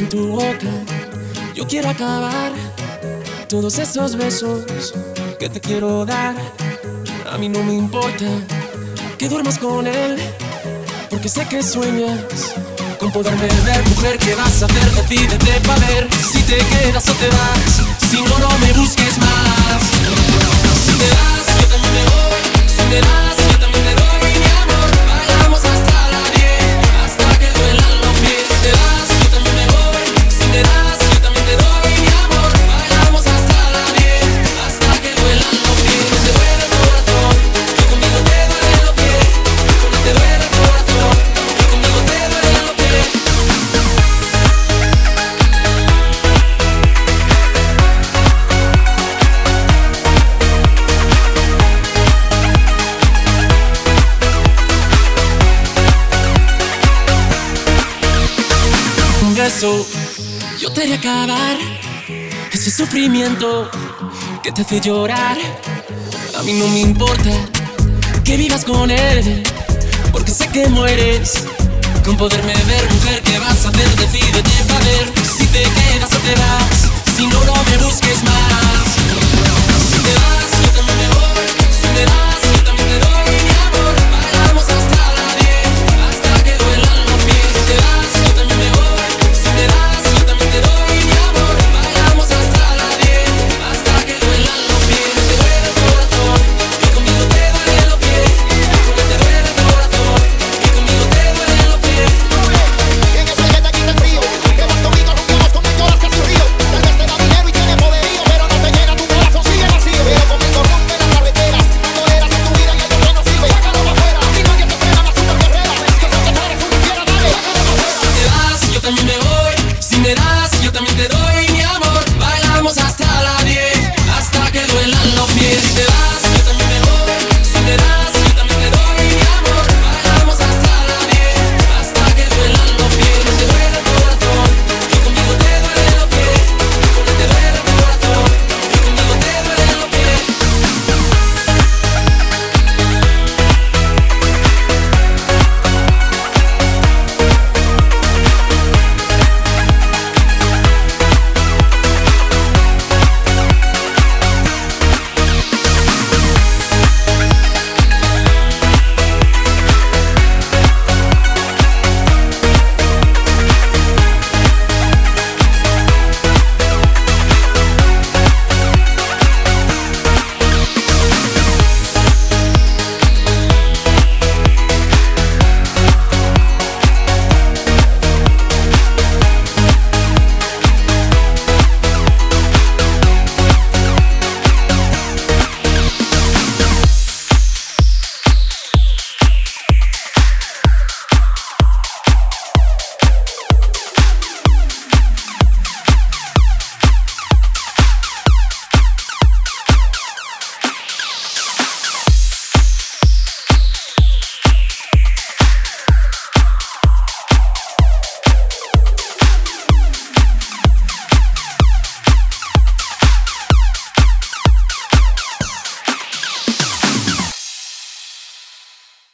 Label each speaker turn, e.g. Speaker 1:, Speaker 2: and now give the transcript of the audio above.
Speaker 1: en tu boca. Yo quiero acabar todos esos besos que te quiero dar. A mí no me importa que duermas con él, porque sé que sueñas con poderme ver. Mujer, ¿qué vas a hacer? Decídete pa' ver si te quedas o te vas. Si no, no me busques más. Si te das, yo también me voy. Si me das, yo también te doy mi amor. Vayamos hasta la 10, hasta que duelan los pies. Si te das, yo también me voy. Si me das, yo también te doy mi amor. Vayamos hasta la 10, hasta que duelan los pies. Te duele el corazón, yo conmigo te duele los pies. Cuando te duele el corazón, yo conmigo te duele los pies. Un beso, yo te haré acabar ese sufrimiento que te hace llorar. A mí no me importa que vivas con él, porque sé que mueres con poderme ver. Mujer, ¿qué vas a hacer? Decídete pa' ver si te quedas o te vas. Si no, no me busques más. Si te vas, yo también me voy.